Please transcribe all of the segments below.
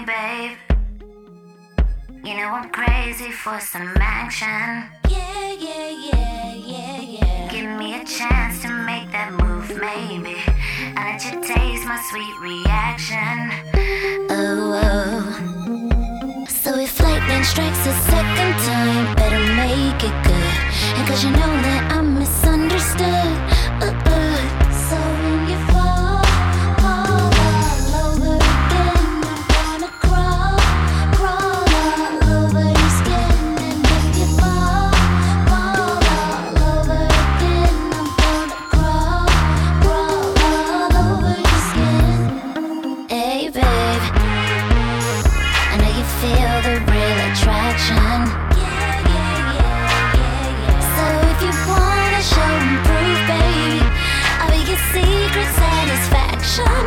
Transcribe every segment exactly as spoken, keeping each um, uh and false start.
Hey babe, you know I'm crazy for some action. Yeah, yeah, yeah, yeah, yeah. Give me a chance to make that move, maybe. I let you taste my sweet reaction. Oh, oh. So if lightning strikes a second time, better make it good. And cause you know that I'm misunderstood. Uh, uh. So when you fall, fall all over again, I'm gonna crawl, crawl all over your skin. And if you fall, fall all over again, I'm gonna crawl, crawl all over your skin. Hey babe, I know you feel the real attraction. Yeah, yeah, yeah, yeah, yeah. So if you wanna show and prove, baby, I'll be your secret satisfaction.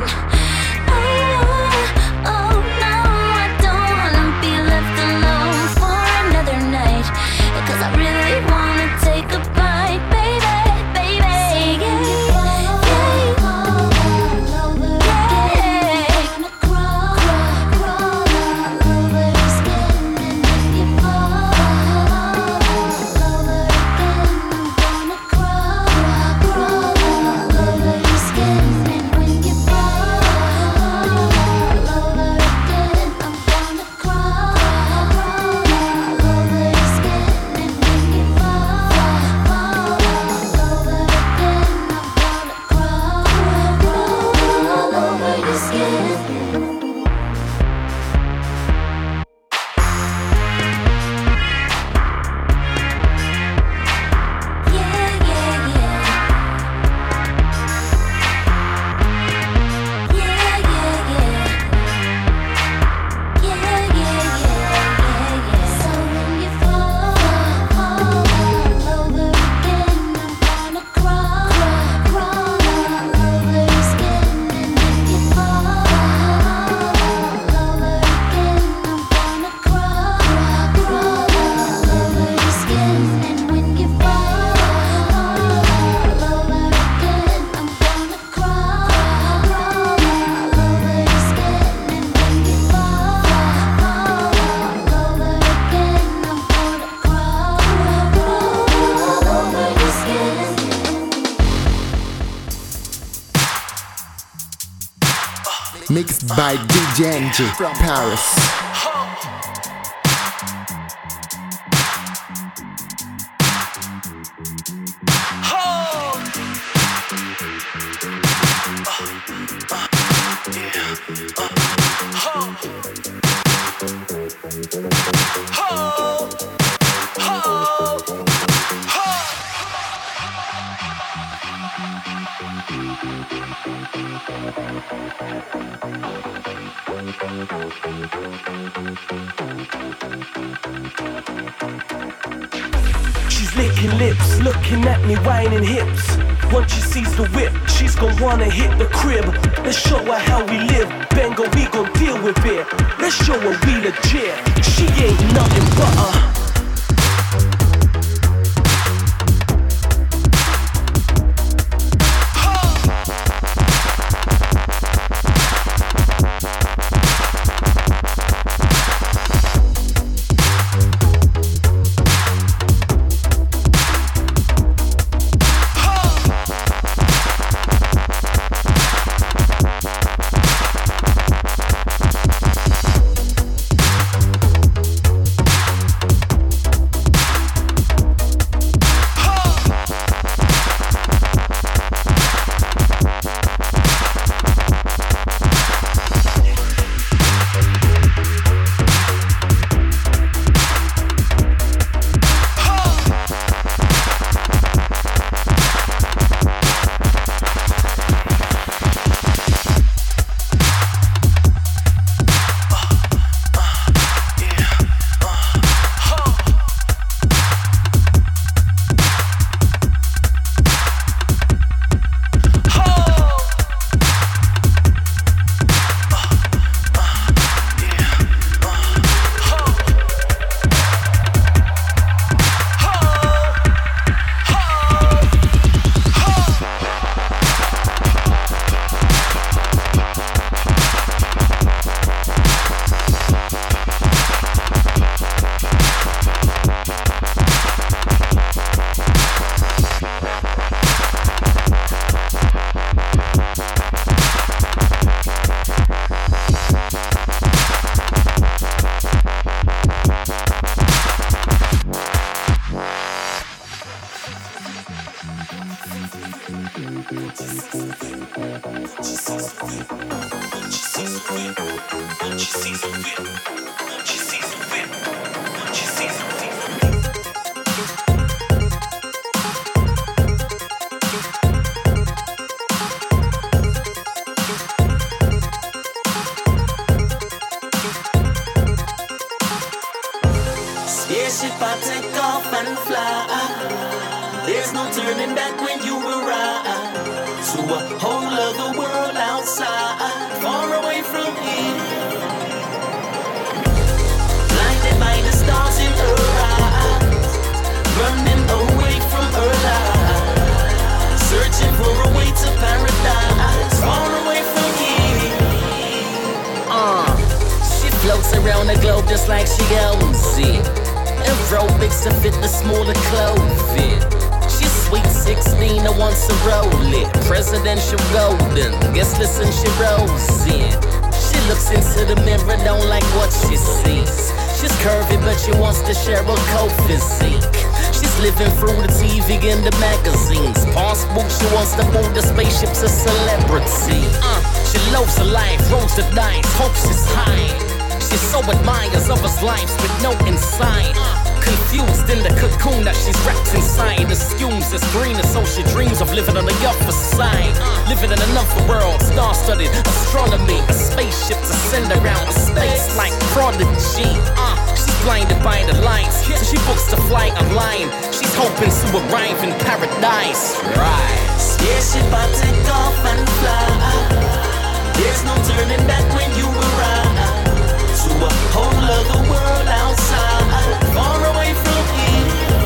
Oh, oh no, I don't wanna be left alone for another night. Cause I really wanna take a bite, baby, baby. Yeah, yeah, yeah. Gonna crawl, crawl all over your skin. And if you fall all over again, I'm gonna crawl, crawl all over your skin. And when you fall all over again, I'm gonna crawl, crawl all over your skin. And when you fall, fall all over again, I'm gonna crawl, crawl all over your skin. Yeah, yeah, yeah. Yeah, yeah, yeah. Yeah, yeah, yeah, yeah, yeah. So when you fall, fall all over again, I'm gonna crawl, crawl all over your skin. And if you fall all over again, I'm gonna crawl, crawl all over your skin. And when you fall all over again, I'm gonna crawl, crawl all over your skin. And when you fall all over again, I'm gonna crawl, crawl all over your skin. Mixed by D J N G from Paris. She's licking lips, looking at me, whining hips. Once she sees the whip, she's gon' wanna hit the crib. Let's show her how we live, Bengo, we gon' deal with it. Let's show her we legit, she ain't nothing but a Spaceship I take off and fly. There's no turning back when you arrive to a whole other world outside, far away from here. Blinded by the stars in her eyes, running away from her life, searching for a way to paradise, far away from here. Uh, she floats around the globe just like she owns it. Aerobics to fit the smaller clothing. She's sweet sixteen and wants to roll it. Presidential golden, guess listen she rolls in. She looks into the mirror, don't like what she sees. She's curvy but she wants to share a cold physique. She's living through the T V and the magazines. Passport, she wants to board the spaceship's a celebrity. Uh, she loves her life, rolls the dice, hopes she's high. She so admires others' lives with no insight. Confused in the cocoon that she's wrapped inside. Assumes it's greener, so she dreams of living on the upper side. Living in another world, star-studded astronomy. A spaceship to send around space like Prodigy. Uh, she's blinded by the lights, so she books the flight online. She's hoping to arrive in paradise. Right. Spaceship I take off and fly. There's no turning back when you arrive to a whole other world outside, far away from here.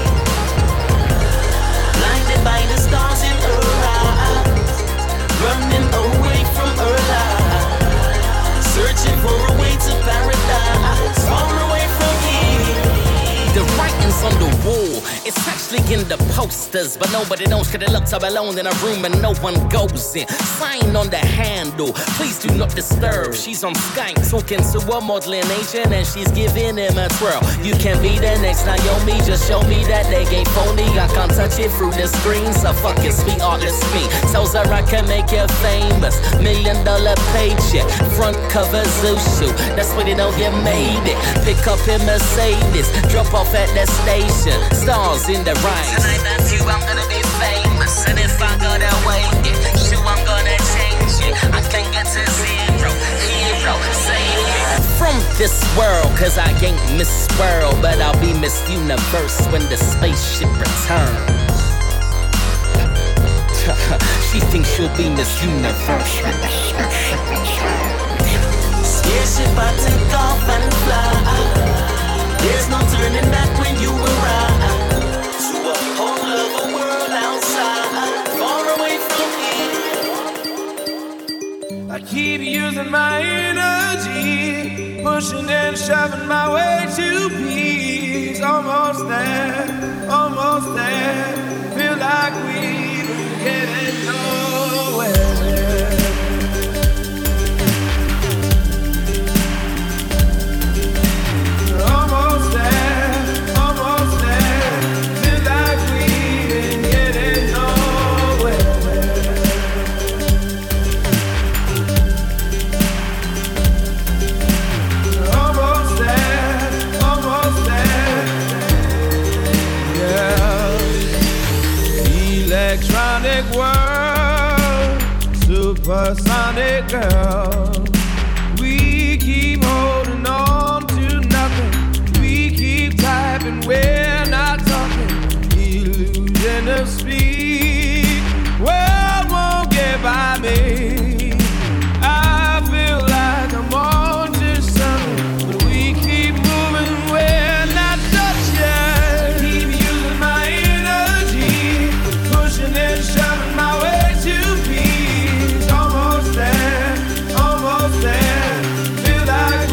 Blinded by the stars in her eyes, running away from her life, searching for a way to paradise, far away from here. The writing's on the wall, it's actually in the posters, but nobody knows cause it looks up alone in a room and no one goes in. Sign on the handle, please do not disturb. She's on Skype talking to a modeling agent and she's giving him a twirl. You can be the next Naomi, just show me that they ain't phony. I can't touch it through the screen, so fucking sweet artist me. Tells her I can make you famous, million dollar paycheck, front cover Zushu, that's when you know you made it. Pick up in Mercedes, drop off at the station, stars in the rise. Tonight that's you, I'm gonna be famous. And if I gotta wait it, shoot, I'm gonna change it. I can get to zero, hero, save me. From this world, cause I ain't Miss World, but I'll be Miss Universe when the spaceship returns. She thinks she'll be Miss Universe when the spaceship returns. Spaceship I take off and fly. There's no turning back when you arrive to a whole other world outside, far away from here. I keep using my energy, pushing and shoving my way to peace. Almost there, almost there. Feel like we're getting nowhere. Almost there, almost there. Feel like we ain't getting nowhere. Almost there, almost there. Yeah. Electronic world, supersonic girl. We keep holding on to nothing. We keep typing, we're not talking. Illusion of speed. World won't get by me. I feel like I'm on to something, but we keep moving, we're not touching. Keep using my energy, pushing and shoving my way to peace. Almost there, almost there. Feel like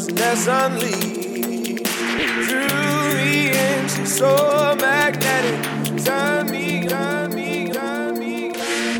restlessness unleashed through me, and she's so magnetic. Turn me, turn me, turn me.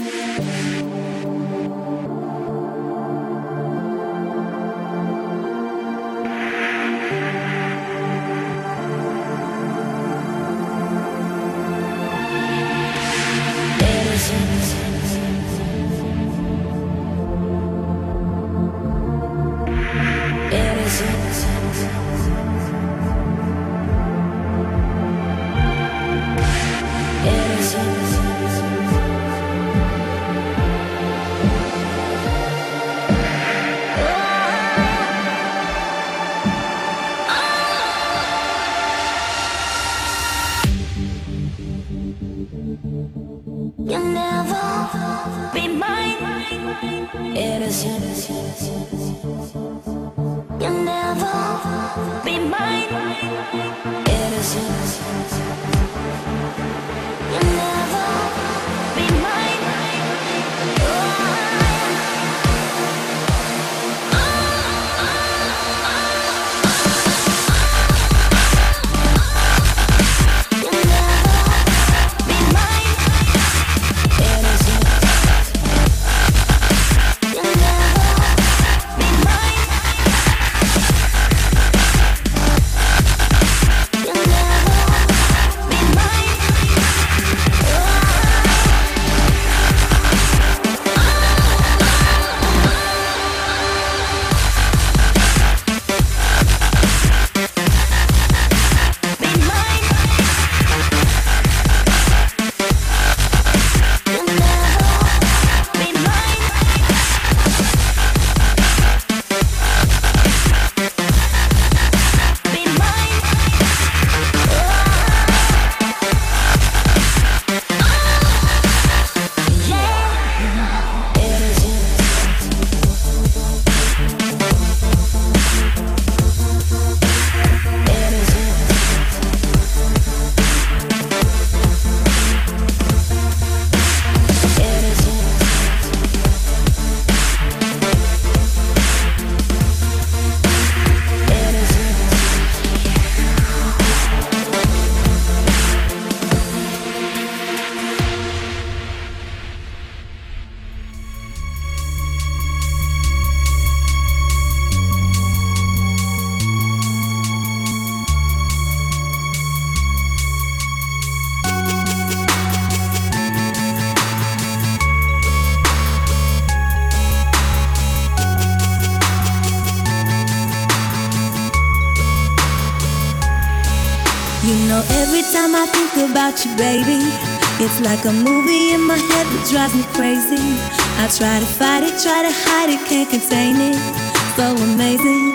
You'll never be mine, innocent. You'll never be mine, innocent. You'll never be mine. Every time I think about you, baby, it's like a movie in my head that drives me crazy. I try to fight it, try to hide it, can't contain it. So amazing.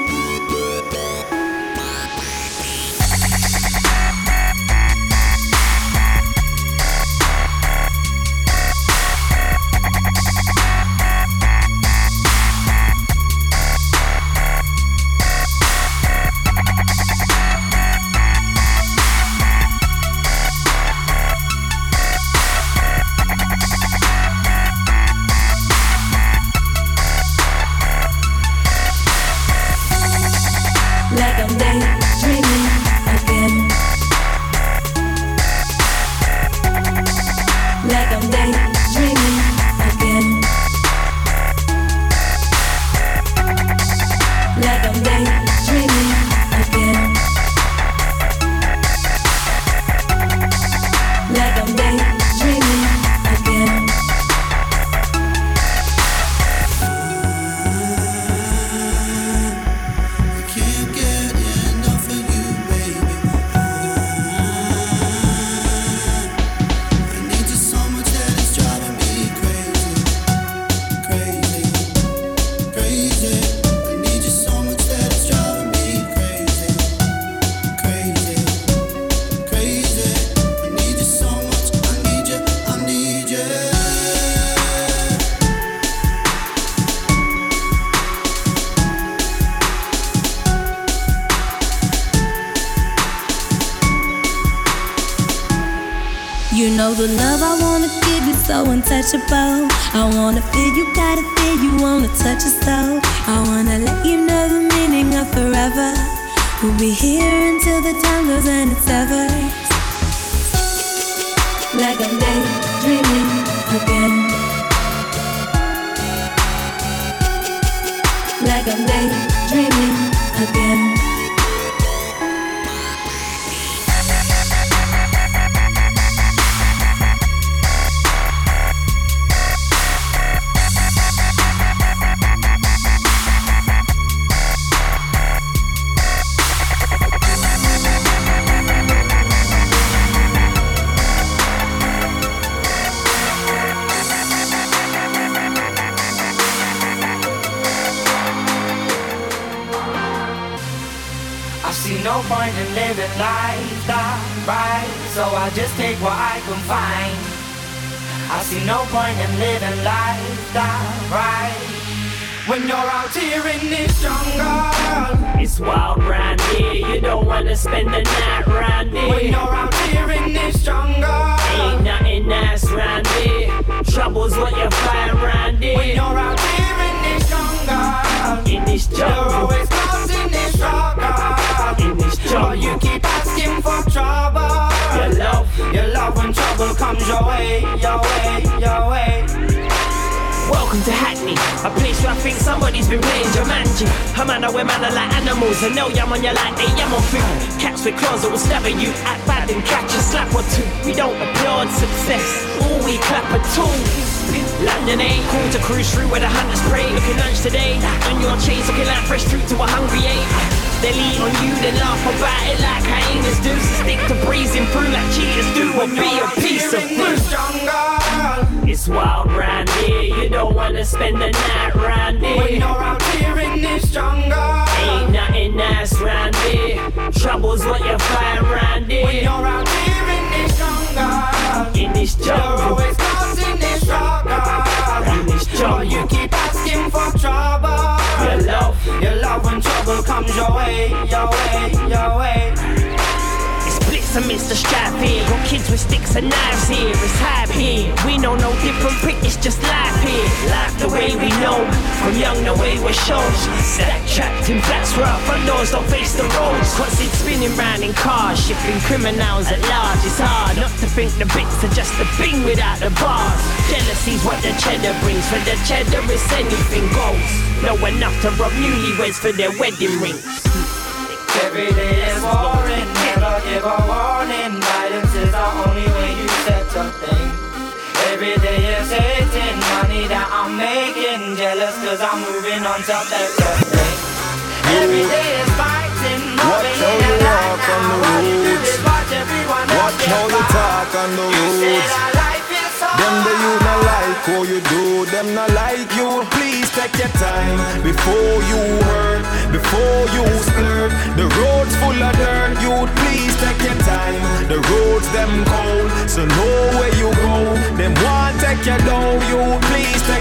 know the love I wanna give you so untouchable. I wanna feel you, gotta feel you, wanna touch your soul. I wanna let you know the meaning of forever. We'll be here until the time goes and it's over. Like I'm daydreaming again. Like I'm daydreaming again. No point in living life that right, so I just take what I can find. I see no point in living life that right. When you're out here in this jungle, it's wild round here, you don't wanna spend the night round here. When you're out here in this jungle, ain't nothing nice round here. Trouble's what you find round here. When you're out here in this jungle, in this jungle, you're always causing this struggle. In this jungle, but you keep asking for trouble. Your love, your love when trouble comes your way, your way, your way. Welcome to Hackney, a place where I think somebody's been playing Jumanji. A man where man are like animals, and no yam on you like they yam on food. Cats with claws that will stab at you, act bad and catch a slap or two. We don't applaud success, all we clap at tools. London ain't cool to cruise through where the hunters prey. Looking lunch today, on your chains looking like fresh fruit to a hungry ape. They'll eat on you, then laugh about it like hyenas do. So stick to breezing through like cheaters do, or be a piece of fruit. It's wild round here, you don't wanna spend the night round here. When you're out here in this jungle, ain't nothing nice round here. Trouble's what you find round here. When you're out here in this jungle, in this jungle, you're always causing this struggle. In this jungle, but you keep asking for trouble. Your love, your love when trouble comes your way, your way, your way. Blitz amidst the strife here. Got kids with sticks and knives here. It's hype here. We know no different prick, it's just life here. Life the way we know. From young the way we're shown. Stack trapped in flats where our front doors don't face the roads. Constant spinning round in cars, shipping criminals at large. It's hard not to think the bits are just a thing without the bars. Jealousy's what the cheddar brings. For the cheddar it's anything goes. Know enough to rob newlyweds for their wedding rings. Every day is boring, never give a warning. Guidance is the only way you set a thing. Every day is hating, money that I'm making. Jealous cause I'm moving on top, that's the thing. Every day is fighting, moving in the light now. All you do is watch everyone else watch how you talk on the roads. Them the you not like how you do, them not like you. Please take your time before you hurt, before you splurt. The road's full of dirt, you please take your time. The roads them cold, so know where you go. Them want take you down, you please take.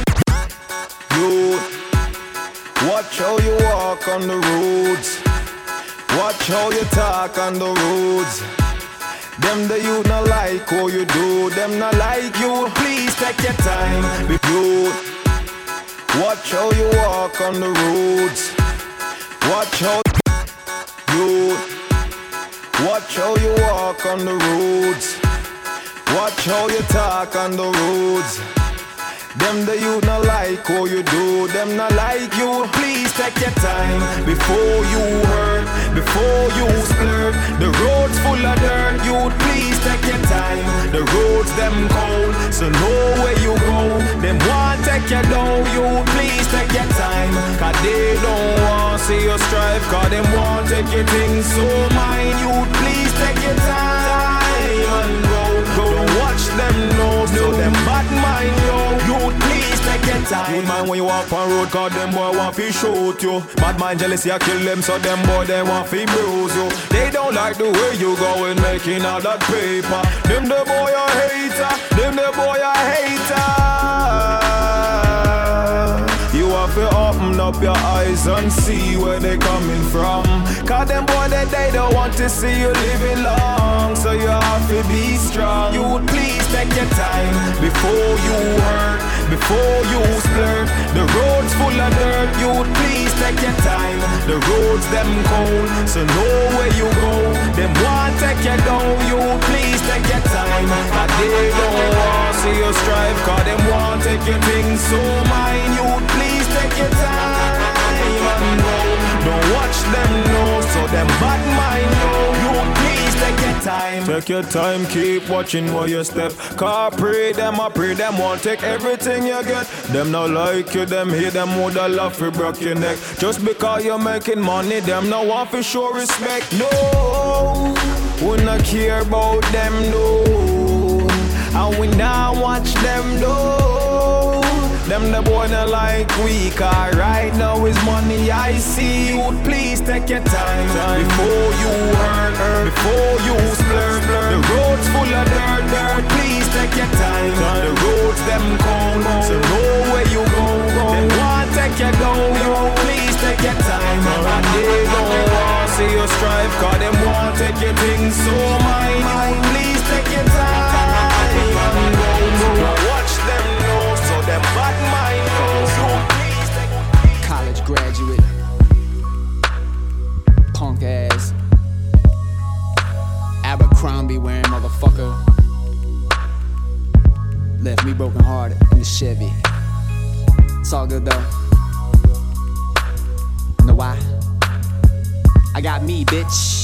You watch how you walk on the roads, watch how you talk on the roads. Them the you not like how you do, them not like you. Please take your time. You watch how you walk on the roads, watch how you watch how you walk on the roads, watch how you talk on the roads. Them the you not like how you do, them not like you. Please take your time before you hurt, before you splurt. The road's full of dirt, you please take your time. The roads them cold, so know where you go. Them want take you down, you please take your time. Cause they don't want see you strive, cause them want take your things so mine. You please take your time and go. Don't watch them know, so them bad mind yo. You please take your time. Good man when you walk on road, cause them boy want to shoot you. Bad mind jealousy I kill them, so them boy they want to bruise you. They don't like the way you go and making all that paper. Them the boy a hater, them the boy a hater. You have to open up your eyes and see where they coming from. Cause them them boy that they don't want to see you living long. So you have to be strong. You would please take your time before you hurt, before you splurt. The road's full of dirt. You would please take your time. The roads them cold, so know where you go. Them want take you down. You would please take your time. And they don't want see you strive, cause them want take your things so mine. You would please take your time and go. Don't watch them know, so them bad mind know. You would please take your time. Take your time, keep watching where you step. Cause pray them, I pray them won't take everything you get. Them not like you, them hate them woulda love to break your neck. Just because you're making money, them no want for show respect. No, we not care about them, no. And we not watch them, no. Them the boy not like we, cause right now is money I see. You would please take your time, time. Before you hurt, hurt, before you splurt, splurt. The road's full of dirt, dirt. Please take your time, time. The roads them cold, so know where you go, go. Them want take you down, you please take your time. And they don't want see you strive, cause them want take your things so mine. You please take your time and go, go. Watch them know, so them bad mind knows. So please take college graduate, punk ass, Abercrombie wearing motherfucker. Left me broken hearted in the Chevy. It's all good though. You know why? I got me, bitch.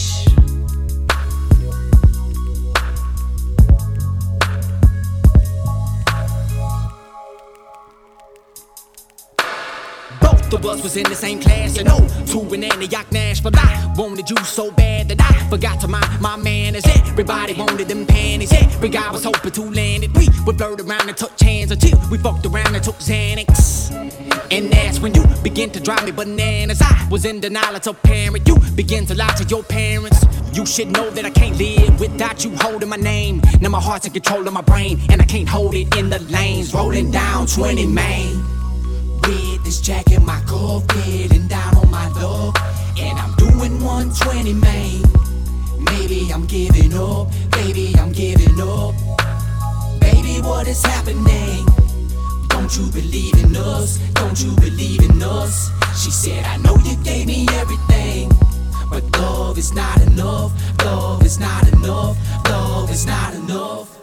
Both of us was in the same class, and oh, to an Antioch Nashville. I wanted you so bad that I forgot to mind my manners. Everybody wanted them panties. Every guy was hoping to land it. We would flirt around and touch hands until we fucked around and took Xanax. And that's when you begin to drive me bananas. I was in denial as a parent. You begin to lie to your parents. You should know that I can't live without you holding my name. Now my heart's in control of my brain, and I can't hold it in the lanes. Rolling down twenty Main. With this jacket, my cuff, getting down on my luck. And I'm doing one twenty Main. Maybe I'm giving up, baby, I'm giving up. Baby, what is happening? Don't you believe in us? Don't you believe in us? She said, I know you gave me everything, but love is not enough. Love is not enough. Love is not enough.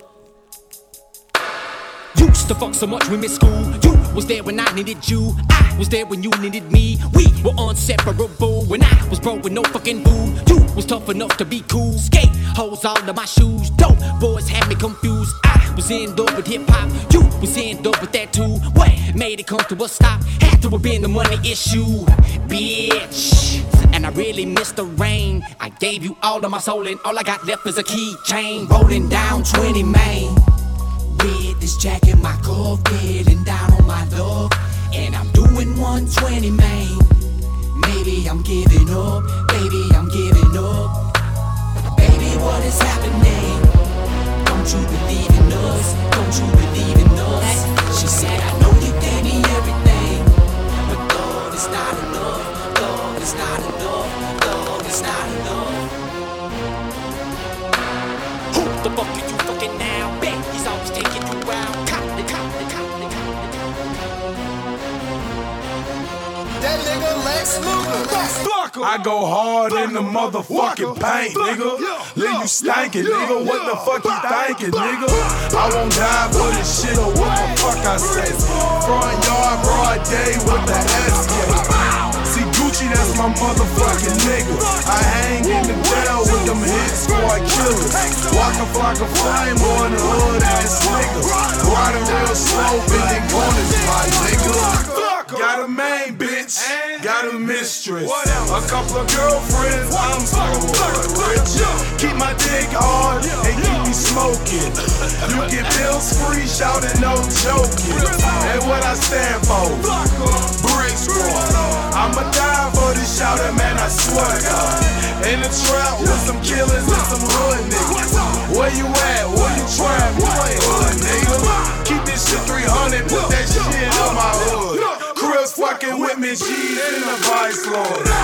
Used to fuck so much we missed school. You was there when I needed you. I was there when you needed me. We were inseparable when I was broke with no fucking boo. You was tough enough to be cool. Skate holes all in my shoes. Dope boys had me confused. I was in love with hip hop. You was in love with that too. What made it come to a stop? Had to have been the money issue, bitch. And I really missed the rain. I gave you all of my soul, and all I got left is a keychain. Rolling down twenty Main. With this jacket, my cuff, getting down on my luck. And I'm doing one twenty Main. Maybe I'm giving up, baby, I'm giving up. Baby, what is happening? Don't you believe in us? Don't you believe in us? She said, I know you gave me everything, but love is not enough. Love is not enough. Love is not enough. Who the fuck are you fucking now? Bet he's always taking you out. Cop the cop the cop the cop the That nigga Lex Luger. I go hard in the motherfucking paint, nigga. Leave you stankin', nigga. What the fuck you thinking, nigga? I won't die for this shit or what the fuck I say. Front yard, broad day with the S K. See Gucci, that's my motherfucking nigga. I hang in the jail with them hit squad killers. Walk a flock of flame on the hood ass nigga. Riding real slow, bending corners, my nigga. Got a main bitch, got a mistress, a couple of girlfriends, I'm so rich. Keep my dick hard and keep me smoking. You get bills free, shouting no joking. And what I stand for, brick squad. I'ma die for this shouting, man, I swear to God. In the trap with some killers and some hood niggas. Where you at? Where you trap? You ain't hood, nigga. Keep this shit three hundred, put that shit on my hood. Crips fucking with me, G's in the Vice Lord. S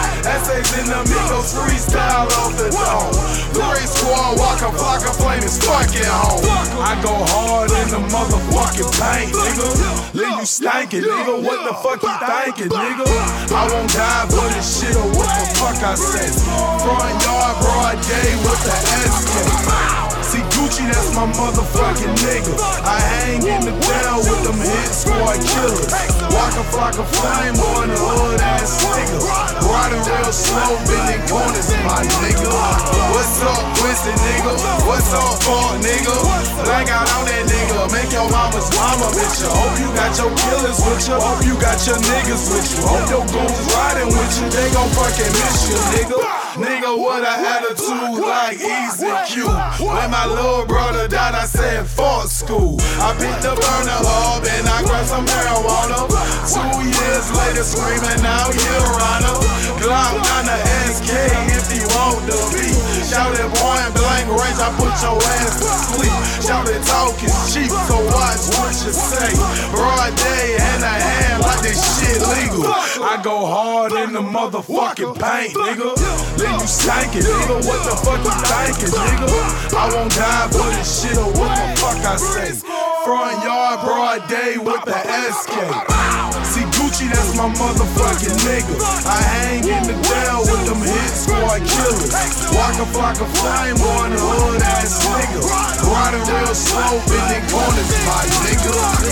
Essays in the Migos freestyle off the dome. Three squad, Waka Flocka, flame is fucking home. I go hard in the motherfucking paint, nigga. Leave you stankin', nigga. What the fuck you thinkin', nigga? I won't die for this shit or what the fuck I say. Front yard, broad day with the S K. See Gucci, that's my motherfucking nigga. I hang in the down with them hit squad killers. Waka Flocka, flame on the hood ass nigga. Riding real slow, bending corners, my nigga. What's up, Quincy, nigga? What's up, Fort, nigga? Blank out on that nigga. Make your mama's mama bitch you. Hope you got your killers with you. Hope you got your niggas with you. Hope your goons riding with you. They gon' fucking miss you, nigga. Nigga, what a attitude like Easy Q. When my little brother died, I said fuck school. I picked the burner up and I grabbed some marijuana. Two years later, screaming out, Your Honor. Glock on the S K if you want to be. Shout it point blank range, I put your ass to sleep. Shout it talk is cheap, so watch what you say. Broad day and a hand like this shit legal. I go hard in the motherfucking paint, nigga. Then you stankin', nigga. What the fuck you thinkin', nigga? I won't die for this shit or what the fuck I say. Front yard, broad day with the S K. See Gucci, that's my motherfucking nigga. I hang in the down with them hit squad killers. Waka Flocka, flame on the hood ass nigga. Riding real slow, bending corners, my nigga.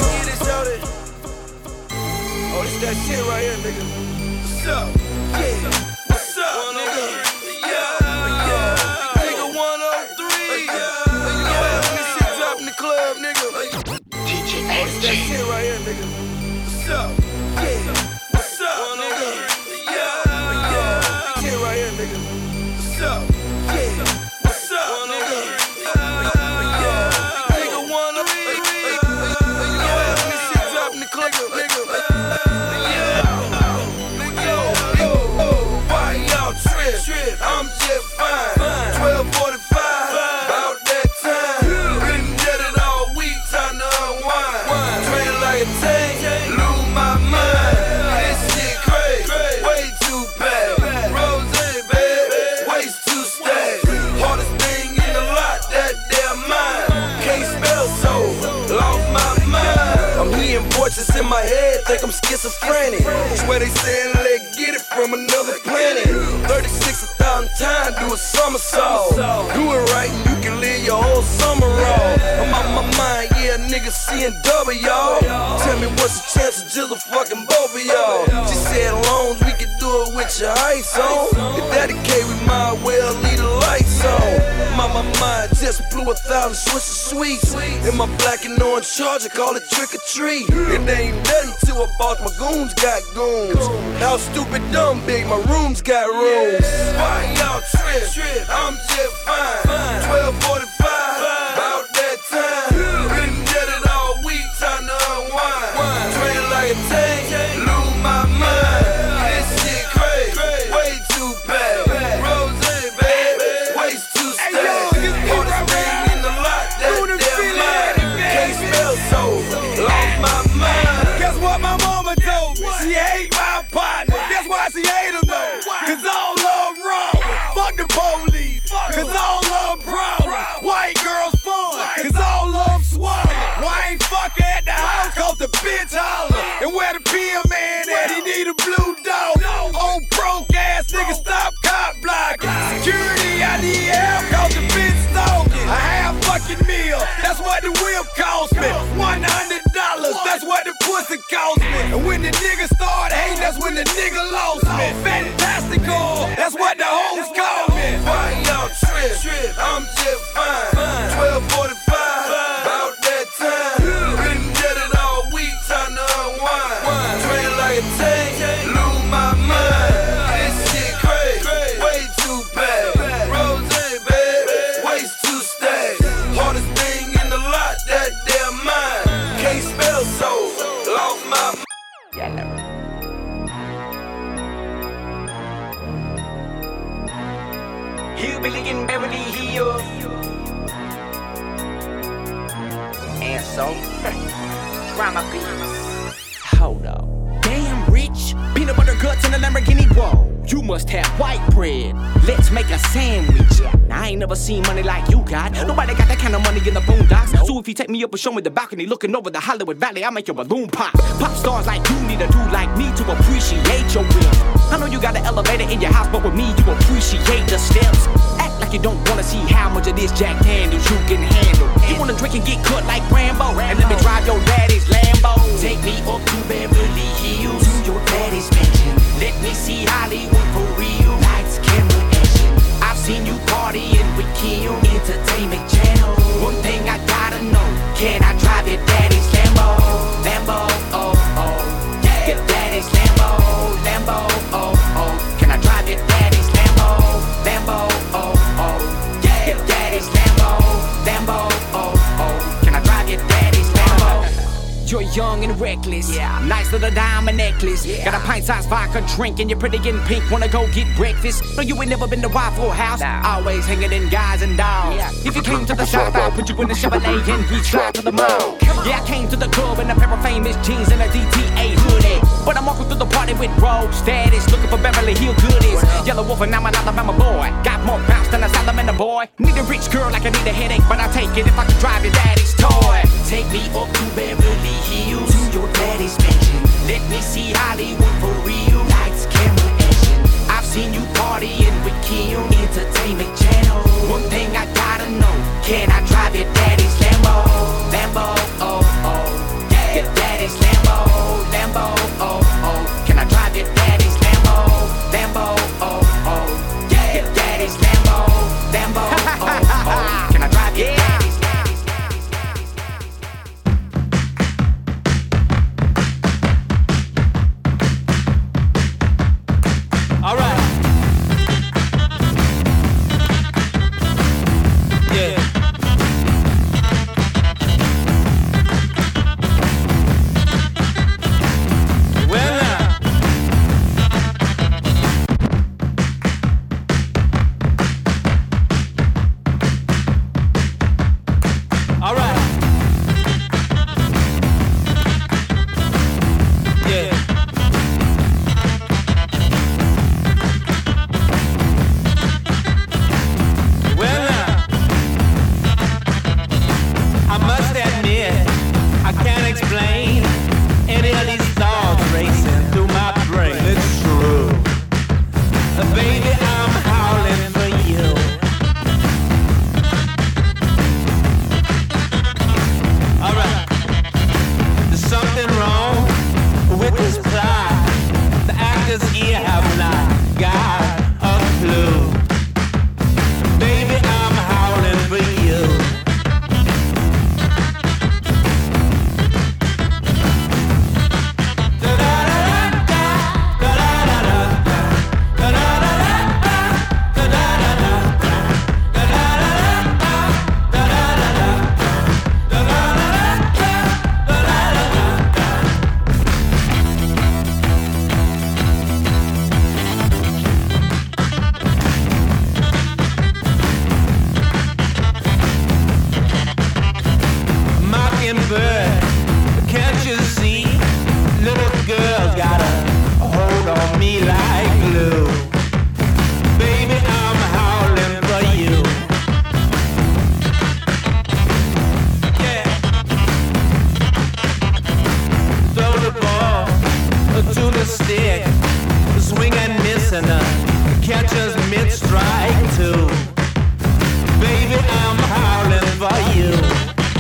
Oh, this that shit right here, nigga. What's up? Yeah. What's up, nigga? Yeah, yeah. Nigga one oh three. Yeah, when this shit drop in the club, nigga. D J oh, this that shit right here, nigga. What's up? Yeah. What's up, nigga? Yeah, yeah. Shit right here, nigga. What's up? Yeah. What's up, nigga? Yeah. Nigga one oh three. Yeah, when this shit drop in the club, nigga. Trip, I'm just fine. twelve forty-five, about that time. Been dead it all week, time to unwind. Train like a tank, lose my mind. This shit crazy, way too bad. Rose, baby, waist too stacked. Hardest thing in the lot, that damn mind. Can't spell so, lost my mind. I'm hearing voices in my head, think I'm schizophrenic. Swear they saying let's get it from another planet. thirty-six a thousand times, do a somersault. Do it right and you can live your whole summer off. I'm out my mind, yeah, niggas seeing double, y'all. Tell me what's the chance of just a fucking both of y'all. She said loans, we can do it with your ice on. If that the case, we might well leave the lights on. My, my mind just blew a thousand Swiss sweets. In my black and orange charger, call it trick or treat. It ain't nothing till I bought my goons got goons. How stupid dumb big, my rooms got rooms. Why y'all trip? Trip, I'm just fine. twelve forty-five, about that time. Been dead it all week, time to unwind. Train like a tank, lose my mind. This shit crazy, way too bad. Rose, baby, waist too stacked. Hardest thing in the lot, that damn mind. Can't spell so, lost my mind. Guess what my mama told me? She hate my partner. Guess why she hate him though? Cause all love wrong. Fuck the police. Cause all love problem. White girls fun. Cause all love swallow. Why ain't fuck her at the house? Cause the bitch holler. And where the P M man at? He need a blue dog. Old broke ass nigga, stop cop blocking. Security, I need help cause the bitch stalking. A half fucking meal, that's what the whip cost me. one hundred dollars, that's what the pussy cost me. And when the nigga started hating, that's when the nigga lost me. Fantastical, that's what the hoes call me. Why y'all trip? Trip, I'm just fine. twelve forty-five, about that time. Been dead it all week, time to unwind. Train like a tank, lose my mind. This shit crazy, way too bad. Rose, baby, waist too stacked. Hardest thing in the lot, that damn mind. Can't spell so, lost my mind. Hillbilly in Beverly Hills. And so, drama beats. Hold up. Damn rich. Peanut butter guts and a Lamborghini. Whoa, you must have white bread. Let's make a sandwich. Now, I ain't never seen money like you got. Nobody got that kind of money in the boondocks. So if you take me up and show me the balcony looking over the Hollywood Valley, I'll make your balloon pop. Pop stars like you need a dude like me to appreciate your will. I know you got an elevator in your house, but with me you appreciate the steps. Act like you don't wanna see how much of this Jack Daniels you can handle. You wanna drink and get cut like Rambo, and let me drive your daddy's Lambo. Take me up to Beverly Hills, to your daddy's mansion. Let me see Hollywood for real. Lights, camera, action. I've seen you partying with Kim, Entertainment Channel. One thing I gotta know, can I drive your daddy's Lambo? Lambo, oh, oh. Yeah. Your daddy's Lambo, Lambo, oh, oh. Can I drive your daddy's Lambo? Lambo, oh, oh. Yeah. Your daddy's Lambo, Lambo, oh, oh. Can I drive your daddy's Lambo? You're young and reckless, yeah. Nice little diamond necklace, yeah. Got a pint-sized vodka drink and you're pretty getting pink. Wanna go get breakfast? No, you ain't never been to Waffle House. Nah. Always hanging in guys and dolls. Yeah. If you came to the South, I'll put you in the Chevrolet and we slide to the mall. Yeah, I came to the club in a pair of famous jeans and a D T A hoodie. But I'm walking through the party with road status, looking for Beverly Hill goodies. Yellow Wolf and I'm an Alabama boy. Got more bounce than a salamander boy. Need a rich girl like I need a headache, but I'll take it if I can drive your daddy's toy. Take me up to Beverly Hills, to your daddy's mansion. Let me see Hollywood for real. Lights, camera, action. I've seen you partying with Kim, Entertainment Channel. One thing I gotta know, can I drive your daddy's Lambo? Lambo, oh, oh. Yeah. Your daddy's Lambo, Lambo, oh, oh. Can I drive your daddy's Lambo? Lambo, oh, oh. Yeah. Your daddy's Lambo, Lambo, oh, oh. Can I drive your daddy's All right. Yeah. Well now. All right. Yeah. Well now, I must admit, I can't explain any of these thoughts racing through my brain. It's true. Uh, baby, I'm howling for you. Alright. There's something wrong with this plot. The actors here have not got a clue. Baby, I'm howling for you. Mockingbird, can't you see? Little girl's got a hold on me like glue. Baby, I'm howling for you. Yeah. Throw the ball to the stick, swing and miss and uh, catch us mid-strike too. Baby, I'm howling for you.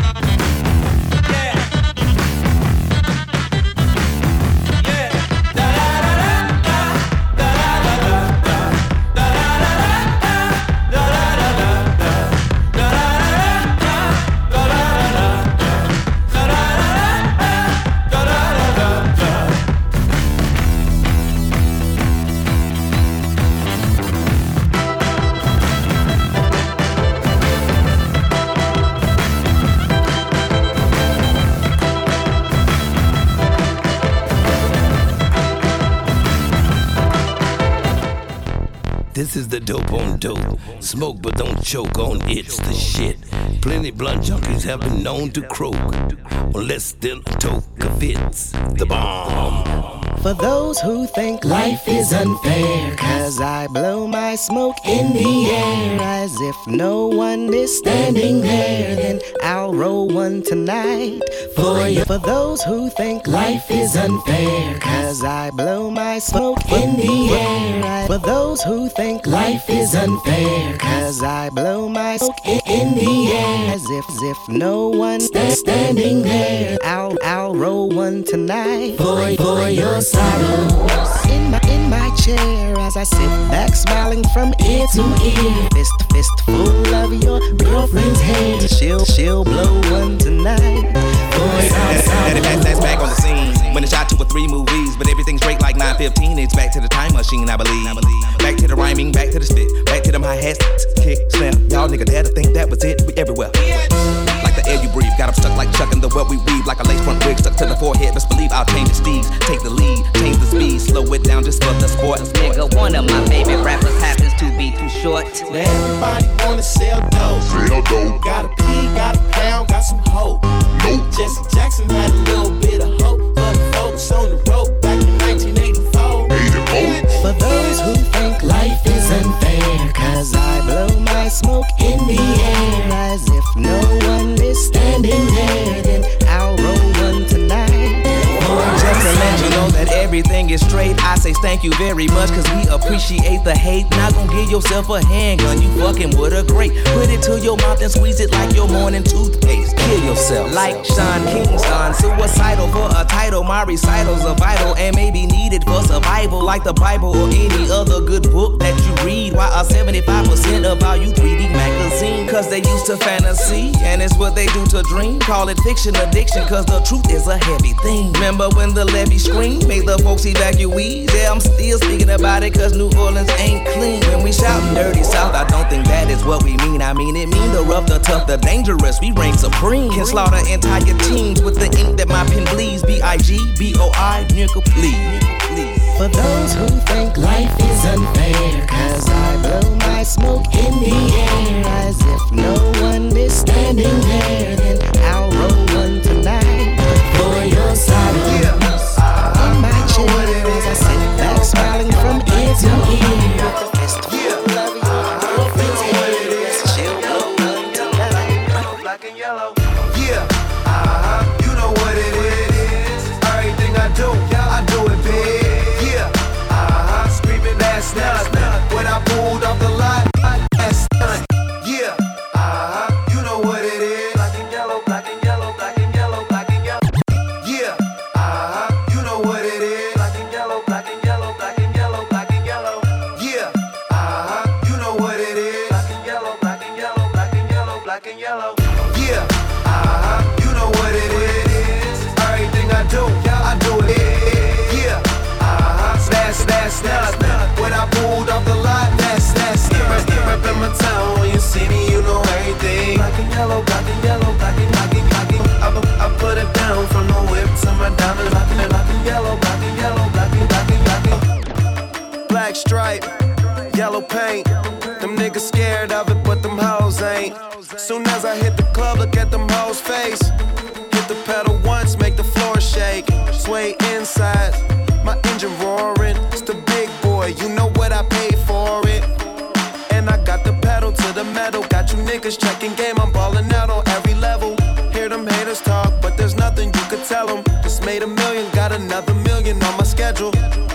This is the dope on dope. Smoke but don't choke on it's the shit. Plenty blunt junkies have been known to croak, unless still a toke of it's the bomb. For those who think life is unfair, cause I blow my smoke in the air as if no one is standing there. Then I'll roll one tonight for you. For those who think life is unfair, cause I blow my smoke in the air. For those who think life is unfair, cause I blow my smoke in the air as if, as if no one is standing there. I'll, I'll roll one tonight for, for your sorrows. In my, in my chair as I sit back smiling from ear to ear, fist to fist full of your girlfriend's hair. She'll, she'll blow one tonight for your sorrows. That's, that's back on the scene when it's shot two or three movies, but everything's straight like nine fifteen. It's back to the time machine, I believe. Back to the rhyming, back to the spit, back to them hi-hats, kick, snap. Y'all nigga dare to think that was it. We everywhere. Like the air you breathe, got 'em stuck like Chuck in the web we weave. Like a lace front wig stuck to the forehead. Best believe I'll change the steeds, take the lead, change the speed, slow it down just for the sport. Nigga, one of my favorite rappers happens to be too short. Everybody wanna sell dope. Sell dope. Got a P, got a pound, got some hope. Nope. Jesse Jackson had a little bit of hope for the folks on the road back in nineteen eighty-four. For those who think life is unfair, cause I blow my smoke in the air as if no one is standing there. Then I'll roll one tonight. Just to let you know that everything is straight, I say thank you very much, cause we appreciate the hate. Not gon' give yourself a handgun, you fucking with a grape. Put it to your mouth and squeeze it like your morning toothpaste. Kill yourself like Sean Kingston. Suicidal for a title, my recitals are vital and maybe needed for survival. Like the Bible or any other good book that you read. Why are seventy-five percent of all you three D magazine? Cause they used to fantasy, and it's what they do to dream. Call it fiction addiction, cause the truth is a heavy thing. Remember when the levee screamed, made the folks evacuees? Yeah, I'm still speaking about it, cause New Orleans ain't clean. When we shoutin' dirty South, I don't think that is what we mean. I mean it mean the rough, the tough, the dangerous, we reign supreme. Can slaughter entire teams with the ink that my pen bleeds. B I G B O I, nigga, please. For those who think life is unfair, cause I blow my smoke in the air as if no one is standing there. Then I'll roll one tonight for your sorrows. In my chair as I sit back smiling from ear to ear, with the fist full of your girlfriend's hair. She'll blow one tonight. Black and yellow. Yeah, uh-huh, you know what it is. Everything I do, I do it big. Yeah, uh-huh, screaming that's not when I pulled off the lot. That's not. Yeah, uh-huh, you know what it is. Black and yellow, black and yellow, black and yellow, black and yellow. Yeah, uh-huh, you know what it is. Black and yellow, black and yellow, black and yellow, black and yellow. Yeah, uh-huh, you know what it is. Black and yellow, black and yellow, black and yellow, black and yellow. Yeah, uh-huh, you know what it is. Everything I do, I do it. Yeah, uh-huh, that's, that's, that's, when I pulled off the lot, that's, that's, rep in my town, when you see me, you know everything. Black and yellow, black and yellow, black and, black and, black and, I, I put it down from the whip to my diamonds. Black and, black and yellow, black and yellow, black and, black and, black and. Black stripe, yellow paint, them niggas scared of it, but them hoes ain't. Soon as I hit the club, look at them hoes' face. Hit the pedal once, make the floor shake. Sway inside, my engine roaring. It's the big boy, you know what I paid for it. And I got the pedal to the metal. Got you niggas checking game, I'm ballin' out on every level. Hear them haters talk, but there's nothing you could tell them. Just made a million, got another million on my schedule.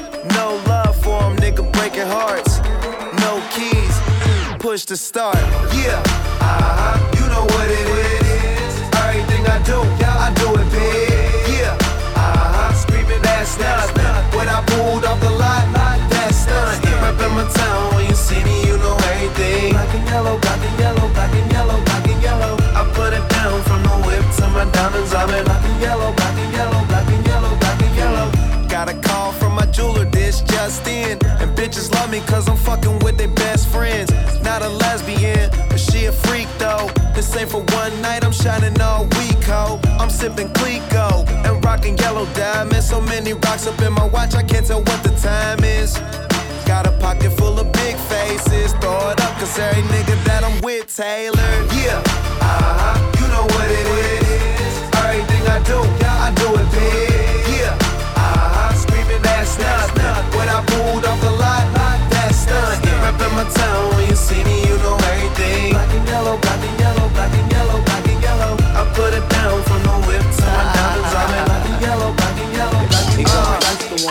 No love for them, nigga breaking hearts. No keys, push to start. Yeah, uh-huh, you know what it is. Everything I do, I do it big. Yeah, uh-huh, screaming that's not when I pulled off the lot, that's not. Rep in my town, when you see me, you know everything. Black and yellow, black and yellow, black and yellow, black and yellow. I put it down from the whip to my diamonds. I'm in black and yellow, black and yellow, black and yellow, black and yellow. Got a call from my jeweler, this just in. And bitches love me cause I'm fucking with their best friends. Not a lesbian, but she a freak though. This ain't for one night, I'm shining all week, ho. I'm sipping Clico and rocking yellow diamonds. So many rocks up in my watch, I can't tell what the time is. Got a pocket full of big faces. Throw it up, cause every nigga that I'm with tailored. Yeah, uh-huh, you know what it is. Everything I do, I do it big. Yeah, uh-huh, screaming that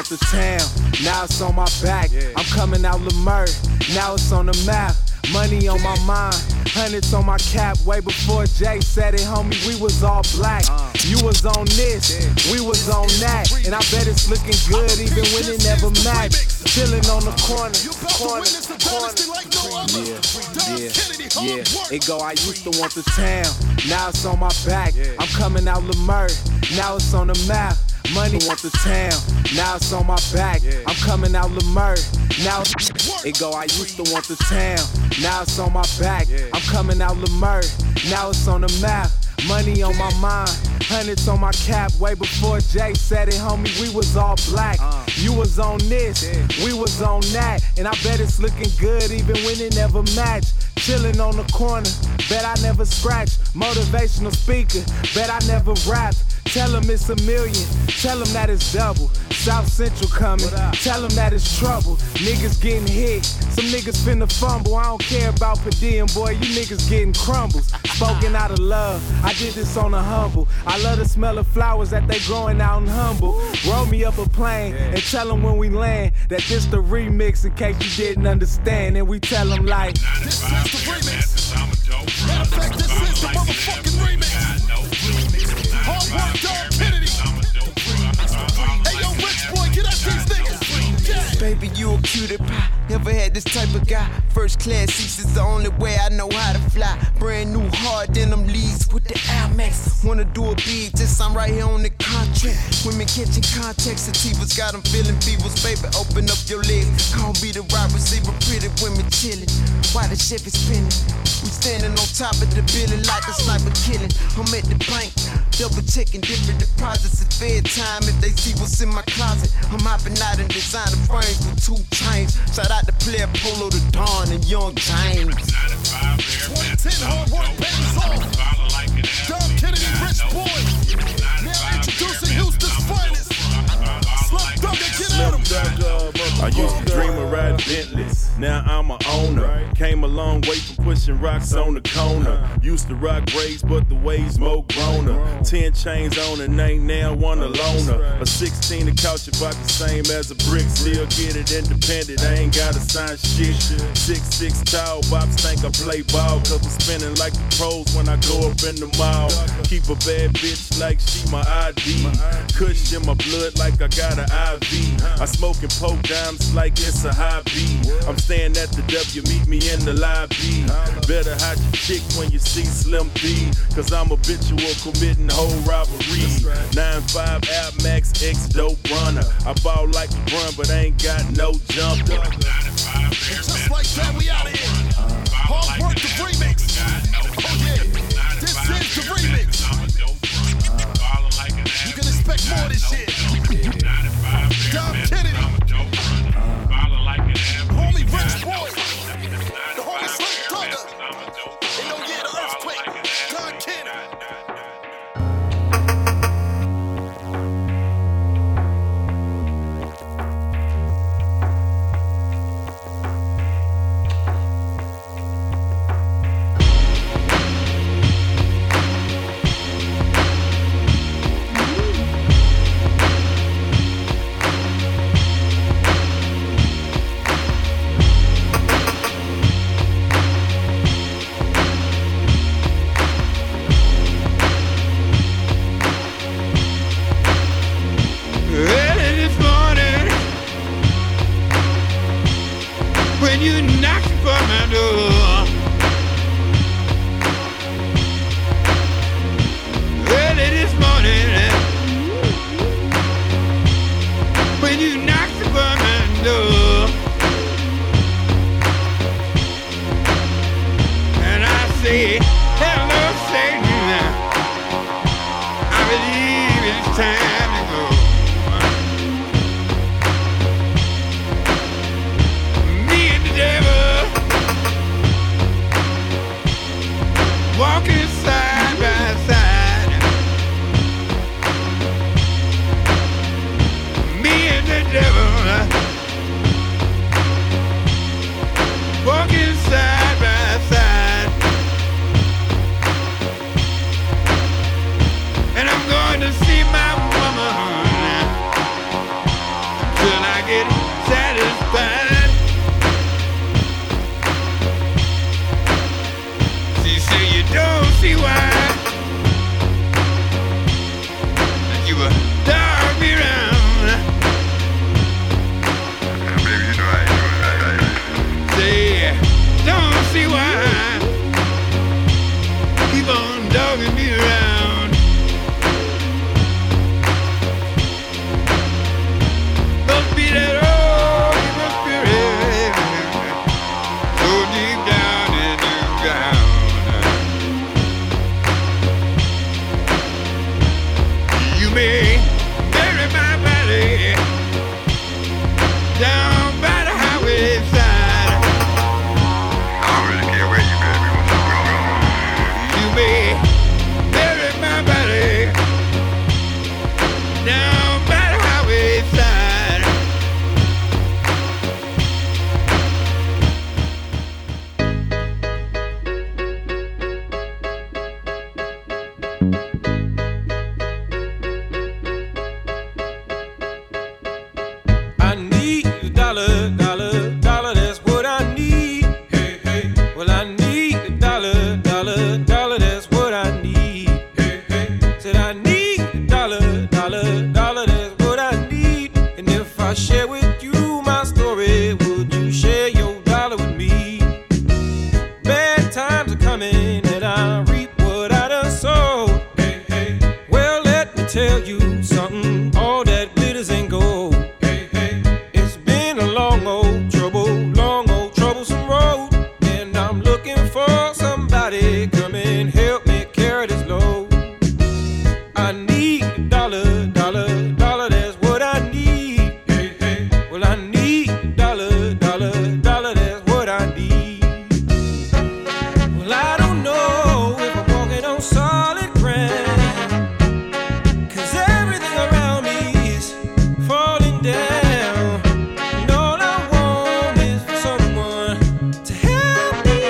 want the town, now it's on my back. I'm coming out Lamar, now it's on the map. Money on my mind, hundreds on my cap. Way before Jay said it, homie, we was all black. You was on this, we was on that. And I bet it's looking good even when it never matched. Chillin' on the corner, corner, corner. Yeah, yeah, yeah. It go, I used to want the town, now it's on my back. I'm coming out Lamar, now it's on the map. Money want the town, now it's on my back. I'm coming out Lamar, now it go, I used to want the town, now it's on my back. I'm coming out Lamar, now it's on the map. Money on my mind, hundreds on my cap. Way before Jay said it, homie, we was all black. You was on this, we was on that. And I bet it's looking good even when it never matched. Chillin' on the corner, bet I never scratched. Motivational speaker, bet I never rapped. Tell him it's a million, tell him that it's double. South Central coming, tell him that it's trouble. Niggas getting hit, some niggas finna fumble. I don't care about per diem, boy, you niggas getting crumbles. Spoken out of love, I did this on a humble. I love the smell of flowers that they growing out in Humble. Roll me up a plane and tell them when we land that this the remix in case you didn't understand. And we tell them like, this is the remix. Matter of fact, this is the motherfucking remix. Hard work, Dom Kennedy. Hey, yo, rich boy, get at these niggas. Yeah. Baby, you a cutie pie. Never had this type of guy. First class seats is the only way I know how to fly. Brand new hard denim leads with the Air Max. Wanna do a beat, just I'm right here on the contract. Women catching contact, sativas got them feeling fevers. Baby, open up your legs. Call me the right receiver, pretty women chilling. Why the Chevy spinning? We standing on top of the building like a sniper killing. I'm at the bank, double checking different deposits at bedtime. If they see what's in my closet, I'm hopping out and designing frames with two chains. Shout out to player Polo the Dawn and Young James. twenty ten hard work pays off. Dom Kennedy, rich boy. Now introducing Houston's finest. Slum Dugger, get at him. I used to dream of riding Bentleys, now I'm a owner. Came a long way from pushing rocks on the corner. Used to rock braids, but the waves more growner. Ten chains on and ain't now one a loner. A sixteen to couch about the same as a brick. Still get it independent, I ain't gotta sign shit. Six six tall, bops think I play ball. Cause I'm spinning like the pros when I go up in the mall. Keep a bad bitch like she my I D. Kush in my blood like I got an I V. I smoking poke dimes like it's a hobby. I'm staying at the W, meet me in the lobby. Better hide your chick when you see Slim P. Cause I'm habitual committing whole robbery. nine five Air Max X dope runner. I ball like LeBron but I ain't got no jumper. Just like that, we out of here. Hard work, the remix. Oh yeah, this is the remix. You can expect more of this shit. Dom Kennedy. Homie Rich Boy. The homie Slim Dugger. Hey, yo, yeah, the earthquake. Dom Kennedy. And I'm going to see my mama. down by the highway side. I need a dollar, dollar, dollar, that's what I need. Hey, hey. Well, I need a dollar, dollar, dollar, that's what I need. Hey, hey. Said I need a dollar, dollar, dollar, that's what I need. And if I share with you my story, would you share your dollar with me? Bad times are coming and I reap what I done sowed. Hey, hey. Well, let me tell you something, all that glitters ain't gold. It's been a long old trouble, long old troublesome road, and I'm looking for somebody come and help me carry this load. I need a dollar, dollar, dollar, that's what I need. Hey, hey. Well, I need a dollar, dollar, dollar, that's what I need. Well, I don't know if I'm walking on solid ground, 'cause everything around me is falling down. And all I want is for someone to help me.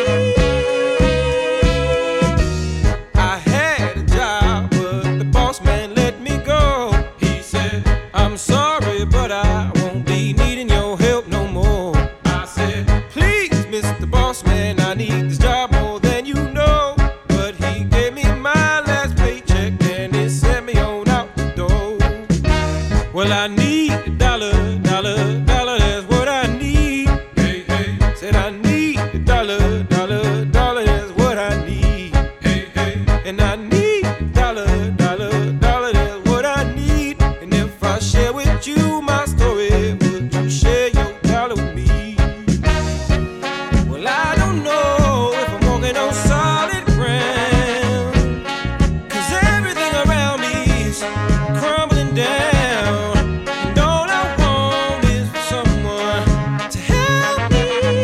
I had a job, but the boss man let me go. He said, I'm sorry, but I won't be needing your help no more. I said, please, Mister Boss Man, I need this job more than you know. But he gave me my last paycheck and he sent me on out the door. Well, I need a dollar, dollar, dollar, that's what I need. Hey, hey. Said I need a dollar, dollar, dollar, that's what I need. Hey, hey. And I need a dollar, dollar, dollar, that's what I need. And if I share with you my story, would you share your dollar with me? Well, I don't know if I'm walking on solid ground, 'cause everything around me is crumbling down. And all I want is for someone to help me.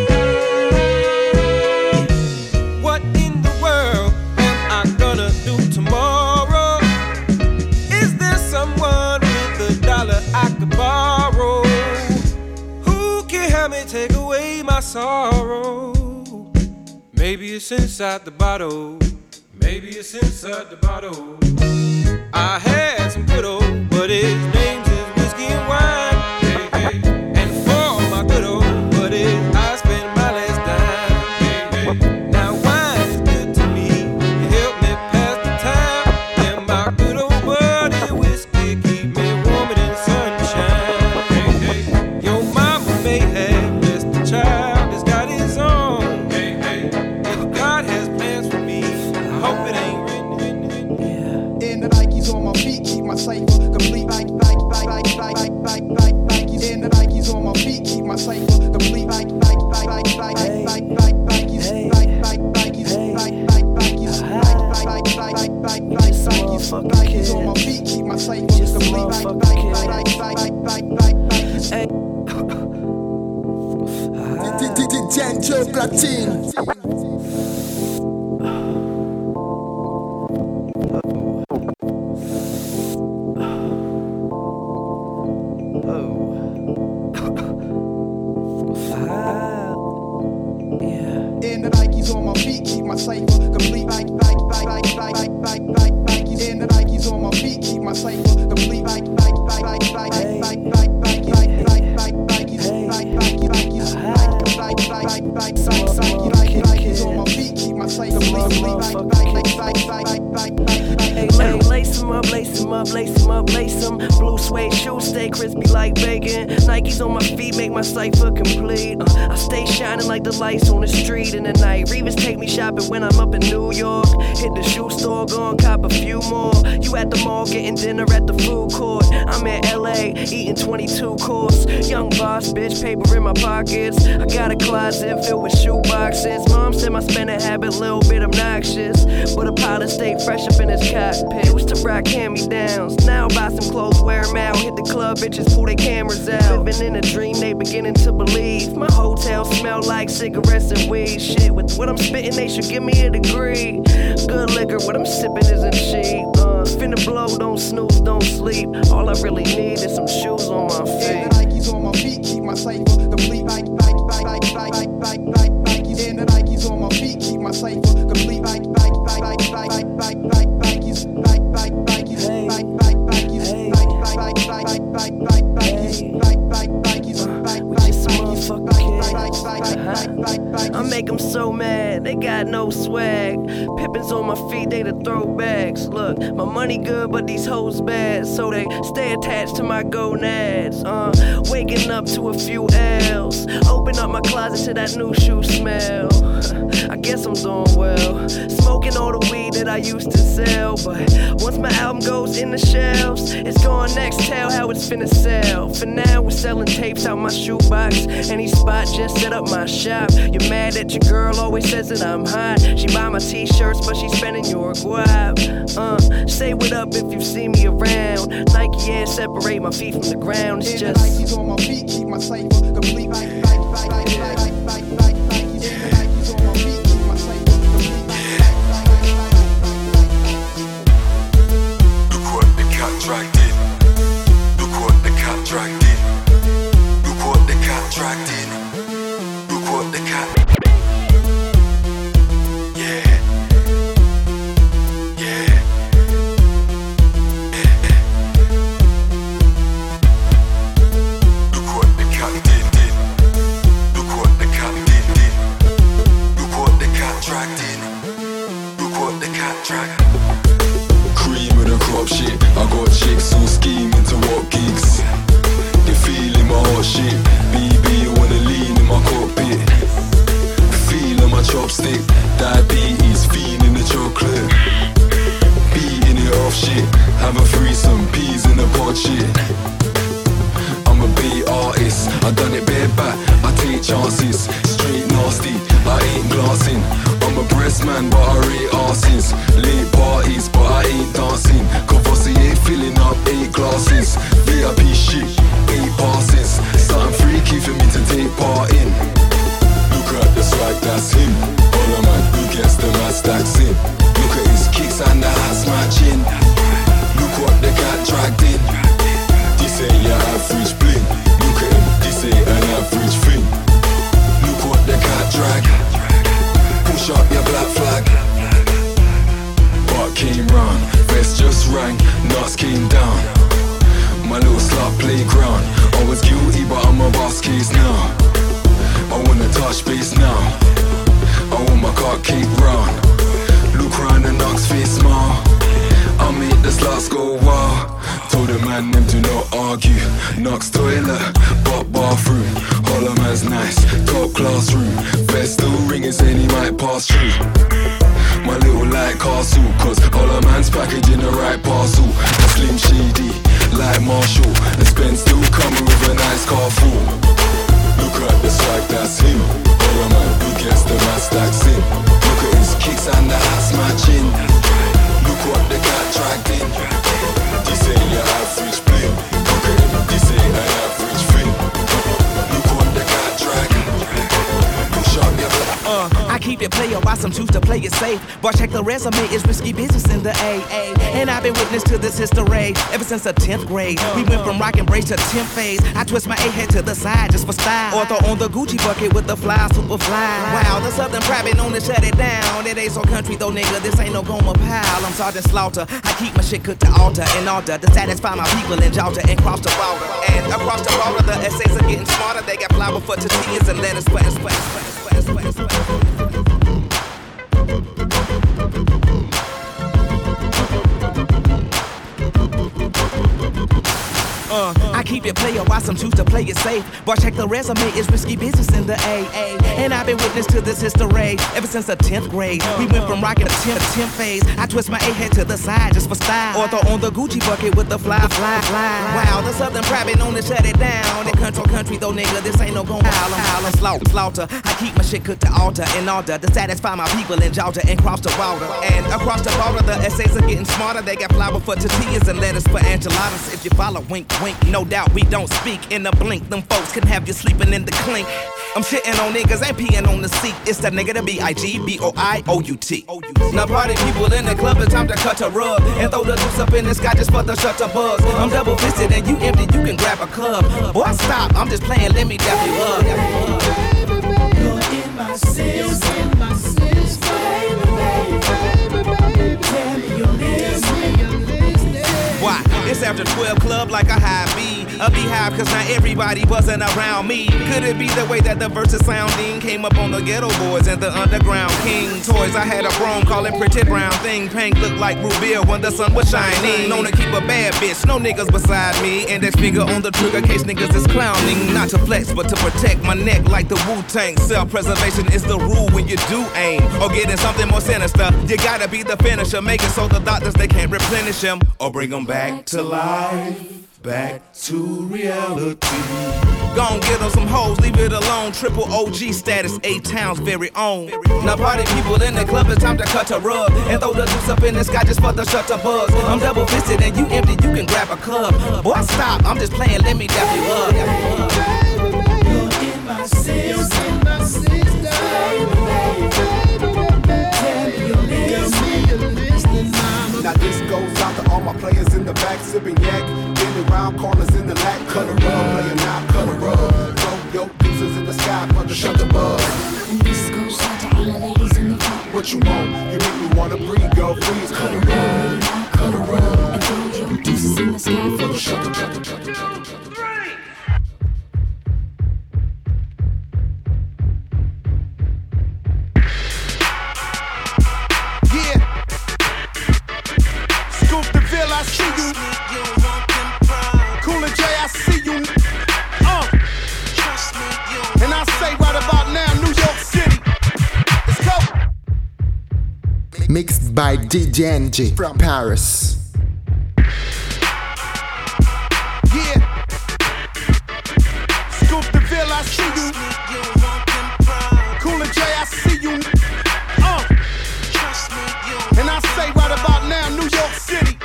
What in the world am I gonna do tomorrow? Is there someone with a dollar I could borrow? Who can help me take away my sorrow? Maybe it's inside the bottle. Maybe it's inside the bottle. I had some good old, but his name's is whiskey and wine. Hey, hey. And for my good old buddies, I spend my last dime. Hey, hey. Now wine is good to me, it help me pass the time. And my good old buddy whiskey keep me warm in the sunshine. Hey, hey. Your mama may have blessed the child that's got his own. Hey, hey. If God has plans for me, I hope it ain't written. In the Nikes on my feet, keep my cipher complete. Like, like, like, like, like, like, like, like, Nikes in the Nikes on my feet, keep my cipher complete. Like, like, like, like, like, like, like, Nikes, like, like, Nikes, like, like, Nikes, like, like, like, like, like, like, like, Nikes, Nikes on my feet, keep my cipher complete. Like, like, like, like, like, like, like, Nikes. D J Joe Platine. In the Nikes on my feet, keep my cipher complete. Like, like, like, like, like, like, like, like, Nikes in the Nikes on my feet, keep my cipher complete. Like, like, like, like, like, like, like, like, like, like, like, like, Nikes, like, like, Nikes, like, like, like, like, like, like, Nikes on my feet, keep my cipher complete. Like, like, like, like, like, like, like, like. Hey, hey, lace 'em up, lace 'em up, lace 'em up, lace 'em. Blue suede shoes stay crispy like bacon. Nikes on my feet make my cipher complete. Uh, I stay shining like the lights on the street in the night. Revis take me shopping when I'm up in New York. Hit the shoe store, go and cop a few more. You at the mall getting dinner at the food court. I'm in L A eating twenty-two course. Young boss, bitch, paper in my pockets. I got a closet filled with shoe boxes. Mom said my spending habit a little bit obnoxious, but a pilot stayed fresh up in his cockpit. Used to rock hand-me-downs, now buy some clothes, wear them out. Hit the club, bitches pull their cameras out. Living in a dream, they beginning to believe. My hotel smell like cigarettes and weed. Shit, with what I'm spitting, they should give me a degree. Good liquor, what I'm sipping isn't cheap. Uh, Uh, finna blow, don't snooze, don't sleep. All I really need is some shoes on my feet. And the Nikes on my feet keep my cipher complete. Nike, Nike, Nike, Nike, Nike, Nike, Nike, Nikes. And the Nikes on my feet keep my cipher complete. Nike, Nike, Nike, Nike, Nike, Nike, Nike, Nikes. Nike, Nike, Nikes. Nike, Nike, Nikes. Nike, Nike, Nike, Nike, Nike, Nike, Nikes. Nike, Nike, Nikes. I make them so mad, they got no swag. Pippins on my feet, they the throwbacks. Look, my money good, but these hoes bad, so they stay attached to my gonads. Uh, waking up to a few L's. Open up my closet to that new shoe smell. I guess I'm doing well. Smoking all the weed that I used to sell, but once my album goes in the shelves, it's going next. Tell how it's finna sell. For now, we're selling tapes out my shoebox. Any spot, just set up my shop. You're mad that your girl always says that I'm hot. She buy my t-shirts, but she spending your guap. Uh, say what up if you see me around. Nike and separate my feet from the ground. It's just Nikes on my feet keep my cipher complete. Nike, Nike, Nike, Nike, Nike, Nike, Nike, Nikes. And the Nikes on my feet keep my cipher complete. Look what the cat dragged in. Look what the cat dragged in. Look what the cat dragged in. Look what the cat. Yeah. Yeah. Look what the cat did, did. Look what the cat did, did. Look what the cat dragged in. Look what the cat dragged. Cream of the crop shit. I got chicks all scheming to what gigs. They feeling my hot shit. B B wanna lean in my cockpit. Feeling my chopstick. Diabetes, feeling the chocolate. Beating it off shit. Have a threesome, peas in the pot shit. I'm a beat artist. I done it bareback. I take chances. Straight nasty. I ain't glassing. I'm a breast man, but I rate arses. Late parties, but I ain't dancing. Courvoisier filling up eight glasses. V I P shit, eight passes. Something freaky for me to take part in. Look at the swag, that's him. All a man who gets the mad stacks in. Look at his kicks and the ass matching. Look what the cat dragged in. This ain't your average bling. Look at him, this ain't an average thing. Look what the cat drag. Push up your black flag. Butt came round, vest just rang, nuts came down. My little slut playground. I was guilty, but I'm a boss case now. I wanna touch base now. I want my car cake round. Look round the knocks face smile. I make the sluts go wild. Told the man them to not argue. Knocks toilet, but bathroom. Holler man's nice, top classroom. Best still ringing saying he might pass through. My little light castle, cause holler man's packaging the right parcel. Slim shady, like Marshall. And Spence still coming with a nice car full. Look at the swag, that's him. Holler man who gets the mad stacks in. Look at his kicks and the ass matching. Look what the cat dragged in. This ain't your average bling. Look at him, this ain't an average thing. Look what the cat dragged. Push up your black. Uh, I keep it player, why some choose to play it safe. But check the resume, it's risky business in the A A. And I've been witness to this history ever since the tenth grade. We went from rock and brace to tenth phase. I twist my A head to the side just for style. Or throw on the Gucci bucket with the fly, super fly. Wow, the Southern private known to shut it down. It ain't so country though, nigga, this ain't no Goma pile. I'm Sergeant Slaughter, I keep my shit cooked to altar and order to satisfy my people in Georgia and cross the border. And across the border, the essays are getting smarter. They got flour for tortillas and lettuce for us, for us, for us, for us, for us. Uh, I keep it player, why some choose to play it safe. But check the resume, it's risky business in the A A. And I've been witness to this history ever since the tenth grade. We went from rockin' to tenth, tenth phase. I twist my A head to the side just for style. Or throw on the Gucci bucket with the fly, fly, fly. Wow, the Southern private known to shut it down. They control country though, nigga, this ain't no gon' howl. I'm howlin' slaughter, slaughter. I keep my shit cooked to altar in order to satisfy my people in Georgia and cross the border. And across the border, the essays are getting smarter. They got flour for tortillas and lettuce for enchiladas. If you follow, wink, wink, no doubt we don't speak in a blink. Them folks can have you sleeping in the clink. I'm shitting on niggas, ain't peeing on the seat. It's that nigga, the B I G B O I O U T. Now party people in the club, it's time to cut a rug and throw the juice up in the sky just for the shutter buzz. I'm double fisted and you empty, you can grab a club. Boy, stop, I'm just playing, let me dap you up. You're in my system, in my system, baby, baby, baby, tell me you're listening. Why? It's after twelve club like a high B. A beehive cause not everybody buzzing around me. Could it be the way that the verses sounding came up on the ghetto boys and the underground king toys? I had a chrome calling pretty brown thing. Pink looked like Rubia when the sun was shining. Known to keep a bad bitch, no niggas beside me. Index finger on the trigger case niggas is clowning. Not to flex but to protect my neck like the Wu-Tang. Self-preservation is the rule when you do aim. Or getting something more sinister, you gotta be the finisher. Make it so the doctors they can't replenish him or bring them back to life. Back to reality. Gon' get them some hoes, leave it alone. Triple O G status, A-Town's very own. Now party people in the club, it's time to cut a rug and throw the juice up in the sky just for the shutter buzz. I'm double fisted and you empty, you can grab a club. Boy, stop, I'm just playing, let me dap you up. You're in my system, in my system, tell me you're listening. Now this goes out to all my players in the back, sipping yak, getting around corners in the lack, cut a rug, playing now, cut a rug. Throw your deuces in the sky for the shutter buzz. And this goes out to all the ladies in the front. What you want? You make me wanna breathe, girl, freeze, cut a rug, cut a rug. And throw your deuces in the sky for the shutter buzz. I see you. Cool and J, I see you. Uh. And I say right about now, New York City. Let's go. Mixed by D J N G from Paris. Yeah. Scoop the Ville, I see you. Cool and J, I see you. Uh. And I say right about now, New York City.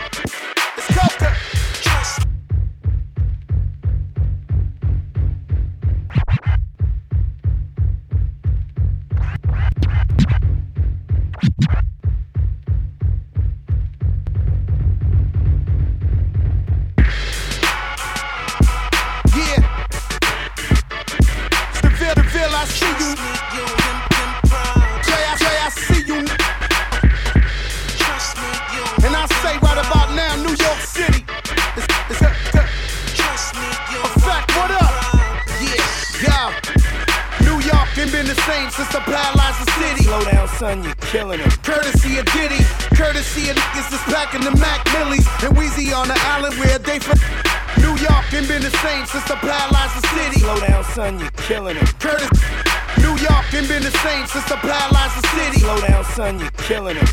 Since I paralyzed the city. Slow down, son, you're killing it. Courtesy of Diddy, courtesy of niggas that's packing the Mac Millies and Weezy on the island where they from. New York ain't been the same since I paralyzed the city. Slow down, son, you're killing it. Curtis, New York ain't been the same since I paralyzed the city. Slow down, son, you're killing it.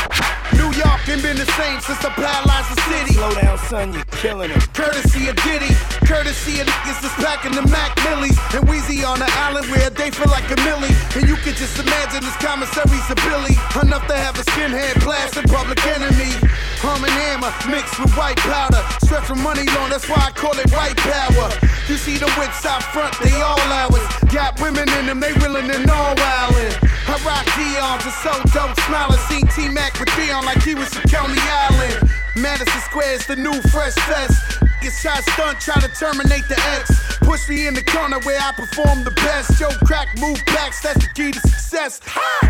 New York ain't been the same since I paralyzed the city. Slow down, son, you're killing it. Courtesy of Diddy, courtesy of niggas that's packing the Mac Millies and Weezy on the island where they feel like a millie. And you can just imagine this commissary's a Billy, enough to have a skinhead blast in Public Enemy. Hum and hammer mixed with white powder, stretch from money long, that's why I call it white power. You see the wits out front, they all ours. Got women in them, they willing and all wildin'. I rock Dion's and so dope smiling. Seen T-Mac with Dion like he was from Coney Island. Madison Square's the new fresh fest. Get shot stunt, try to terminate the X. Push me in the corner where I perform the best. Yo, crack, move backs, that's the key to success.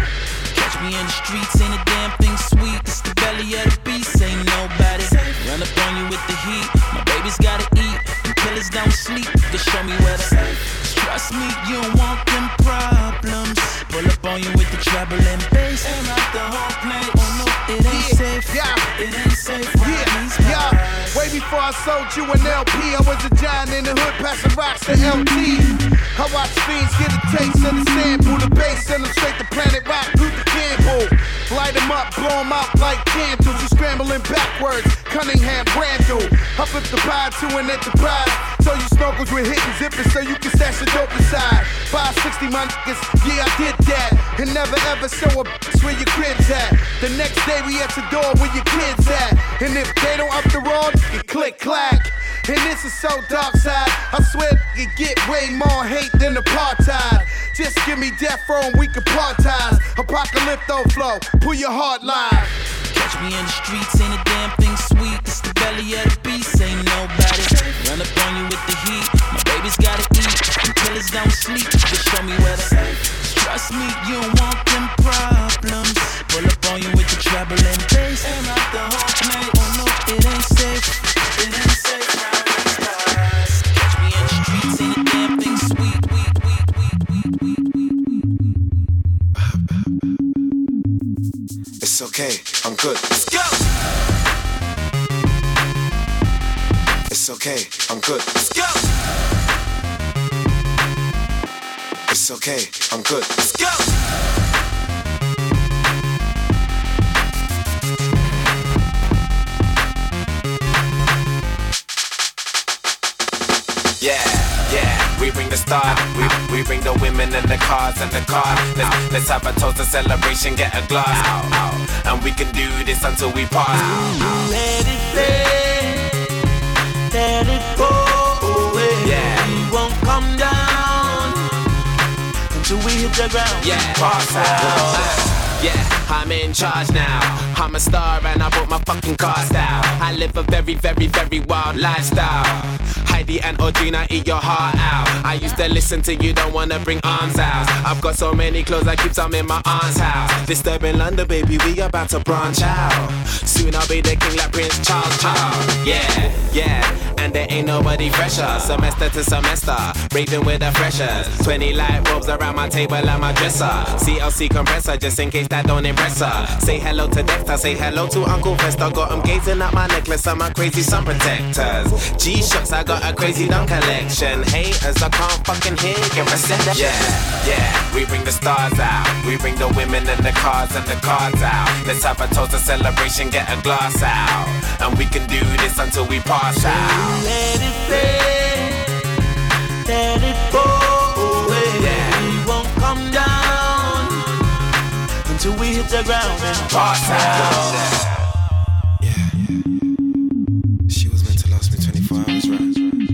Catch me in the streets, ain't a damn thing sweet. It's the belly of the beast, ain't nobody. Run up on you with the heat. My baby's gotta eat, and killers don't sleep. Just show me where the trust me, you don't want them problems. Pull up on you with the treble and bass. Aim out the whole place. Oh no, it ain't yeah, safe. Yeah, it ain't safe. Yeah, yeah. Way before I sold you an L P, I was a giant in the hood, passing rocks to L T. I watch fiends get a taste of the sample, the bass, send them straight to Planet Rock, Luther Campbell. Light them up, blow them out like candles. You scrambling backwards, Cunningham, Randall. I flip the pie to an enterprise. So you snorkels with hitting zippers so you can stash the dope inside. five sixty, my niggas, yeah, I did that. And never ever show a bitch where your crib's at. The next day we at your door where your kids at. And if they don't up the road, you click clack. And this is so dark side. I swear it get way more hate than apartheid. Just give me death row and we can partize. Apocalypto flow, pull your hard line. Catch me in the streets, ain't a damn thing sweet. It's the belly of the beast, ain't nobody. Run up on you with the heat. My baby's gotta eat. The killers don't sleep. Just show me where the trust me, you don't want them problems. Pull up on you with the treble and bass. Aim out the hawk, mate. Oh no, it ain't safe. It ain't safe. Catch me in the streets, ain't a damn thing sweet. It's okay, I'm good. Let's go. It's okay, I'm good. Let's go. It's okay, I'm good. Let's go. Yeah, yeah, we bring the star, we, we bring the women and the cars and the car. Let's, let's have a toast, a celebration, get a glass. Ow, ow. And we can do this until we pass. Ow, let it play, let it go away. Yeah. We won't come down until we hit the ground. Yeah, pass out. Yeah, I'm in charge now. I'm a star and I bought my fucking car style. I live a very, very, very wild lifestyle. Heidi and Audrina eat your heart out. I used to listen to you, don't wanna bring arms out. I've got so many clothes, I keep some in my aunt's house. Disturbing London, baby, we about to branch out. Soon I'll be the king like Prince Charles, Charles. Yeah, yeah, and there ain't nobody fresher. Semester to semester, raving with the freshers. Twenty light bulbs around my table and my dresser. C L C compressor, just in case that don't impress her. Say hello to Dexter, say hello to Uncle Fester. Got him gazing at my necklace and my crazy sun protectors. G-Shocks, I got a crazy dunk collection. Haters, I can't fucking hear you reception. Yeah, yeah, we bring the stars out. We bring the women and the cars and the cards out. Let's have a toast, a celebration, get a glass out. And we can do this until we pass out. Let it play, let it go away. Yeah. We won't come down until we hit the ground and pass out. Yeah, yeah. She was meant to last me twenty-four hours, right?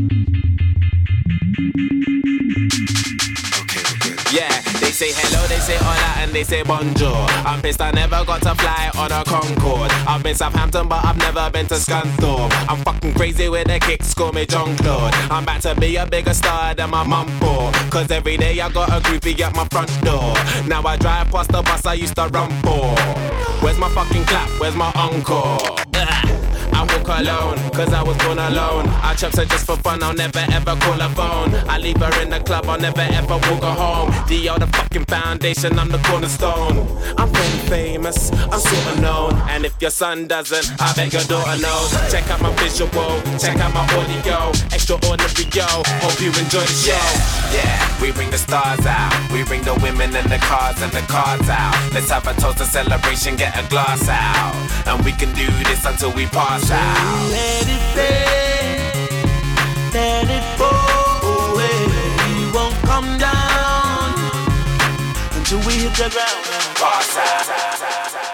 Okay, we're good. Yeah, they say hello, they say hola, and they say bonjour. I'm pissed I never got to fly on a Concorde. I've been Southampton, but I've never been to Scunthorpe. I'm fucking crazy with the kicks, call me John Claude. I'm about to be a bigger star than my mum for. Cause every day I got a groupie at my front door. Now I drive past the bus I used to run for. Where's my fucking clap? Where's my encore? I walk alone, cause I was born alone. I chops her just for fun, I'll never ever call her phone. I leave her in the club, I'll never ever walk her home. The other fucking foundation, I'm the cornerstone. I'm pretty famous, I'm sorta known. And if your son doesn't, I bet your daughter knows. Check out my visual, check out my audio. Extraordinary, yo, hope you enjoy the show. Yeah, yeah, we bring the stars out. We bring the women and the cars and the cards out. Let's have a toast, a celebration, get a glass out. And we can do this until we pass out. Let it play, let it go away. We won't come down until we hit the ground and pass out.